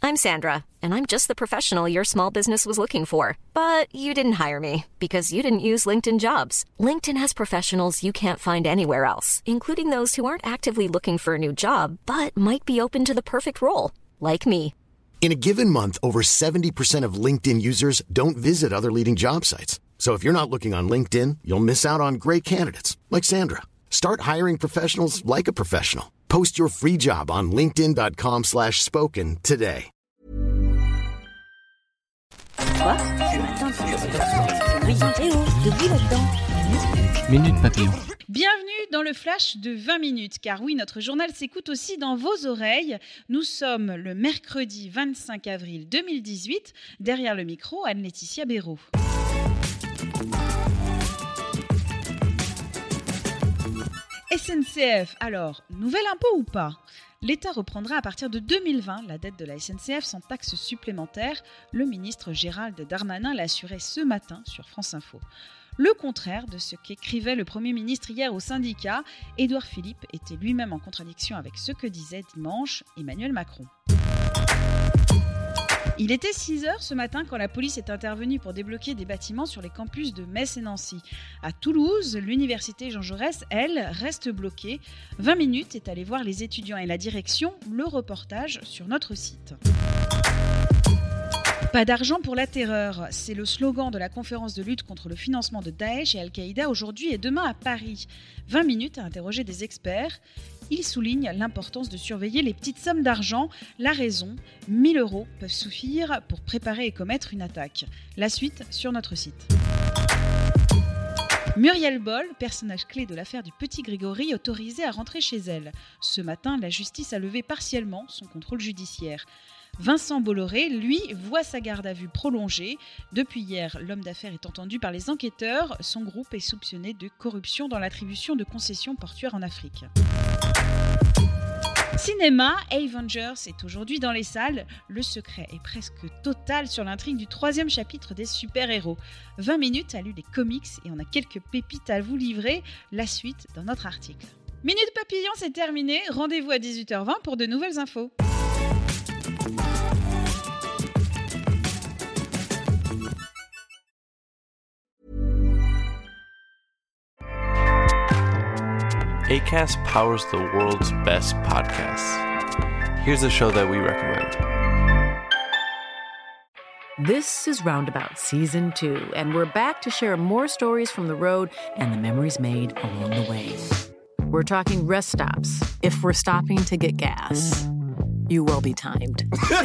I'm Sandra, and I'm just the professional your small business was looking for. But you didn't hire me because you didn't use LinkedIn Jobs. LinkedIn has professionals you can't find anywhere else, including those who aren't actively looking for a new job, but might be open to the perfect role, like me. In a given month, over 70% of LinkedIn users don't visit other leading job sites. So if you're not looking on LinkedIn, you'll miss out on great candidates like Sandra. Start hiring professionals like a professional. Post your free job on linkedin.com/spoken today. Quoi? Ce matin, Minute Papillon. Bienvenue dans le flash de 20 minutes, car oui, notre journal s'écoute aussi dans vos oreilles. Nous sommes le mercredi 25 avril 2018. Derrière le micro, Anne-Laetitia Béraud. SNCF, alors, nouvel impôt ou pas ? L'État reprendra à partir de 2020 la dette de la SNCF sans taxe supplémentaire. Le ministre Gérald Darmanin l'a assuré ce matin sur France Info. Le contraire de ce qu'écrivait le Premier ministre hier au syndicat, Édouard Philippe était lui-même en contradiction avec ce que disait dimanche Emmanuel Macron. Il était 6h ce matin quand la police est intervenue pour débloquer des bâtiments sur les campus de Metz et Nancy. À Toulouse, l'université Jean Jaurès, elle, reste bloquée. 20 minutes est allé voir les étudiants et la direction. Le reportage sur notre site. Pas d'argent pour la terreur, c'est le slogan de la conférence de lutte contre le financement de Daesh et Al-Qaïda aujourd'hui et demain à Paris. 20 minutes à interroger des experts. Ils soulignent l'importance de surveiller les petites sommes d'argent. La raison, 1 000 € peuvent suffire pour préparer et commettre une attaque. La suite sur notre site. Muriel Boll, personnage clé de l'affaire du petit Grégory, autorisée à rentrer chez elle. Ce matin, la justice a levé partiellement son contrôle judiciaire. Vincent Bolloré, lui, voit sa garde à vue prolongée. Depuis hier, l'homme d'affaires est entendu par les enquêteurs. Son groupe est soupçonné de corruption dans l'attribution de concessions portuaires en Afrique. Cinéma, Avengers est aujourd'hui dans les salles. Le secret est presque total sur l'intrigue du 3e chapitre des super-héros. 20 minutes a lu les comics et on a quelques pépites à vous livrer. La suite dans notre article. Minute Papillon, c'est terminé. Rendez-vous à 18h20 pour de nouvelles infos. Acast powers the world's best podcasts. Here's a show that we recommend. This is Roundabout Season 2, and we're back to share more stories from the road and the memories made along the way. We're talking rest stops, if we're stopping to get gas. You will be timed.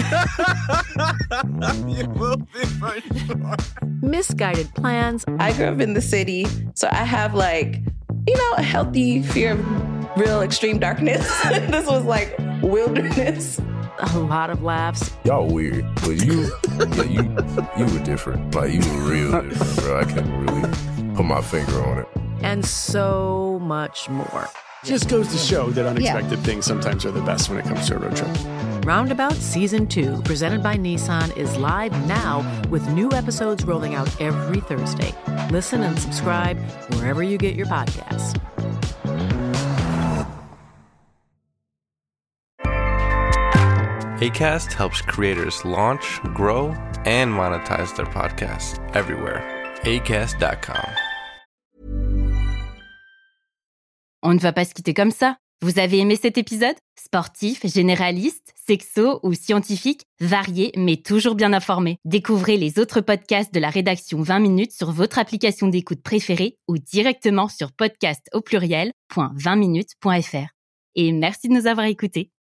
You will be for sure. Misguided plans. I grew up in the city, so I have a healthy fear of real extreme darkness. This was like wilderness. A lot of laughs. Y'all weird, but you were different. Like, you were real different, bro. I can't really put my finger on it. And so much more. Just goes to show that unexpected things sometimes are the best when it comes to a road trip. Roundabout Season 2, presented by Nissan, is live now with new episodes rolling out every Thursday. Listen and subscribe wherever you get your podcasts. Acast helps creators launch, grow, and monetize their podcasts everywhere. Acast.com. On ne va pas se quitter comme ça. Vous avez aimé cet épisode ? Sportif, généraliste, sexo ou scientifique, varié mais toujours bien informé. Découvrez les autres podcasts de la rédaction 20 minutes sur votre application d'écoute préférée ou directement sur podcast@20minutes.fr. Et merci de nous avoir écoutés.